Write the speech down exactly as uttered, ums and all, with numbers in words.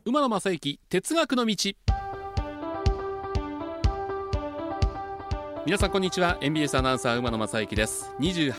馬野正幸哲学の道。皆さんこんにちは。 エムビーエス アナウンサー馬野正幸です。にじゅう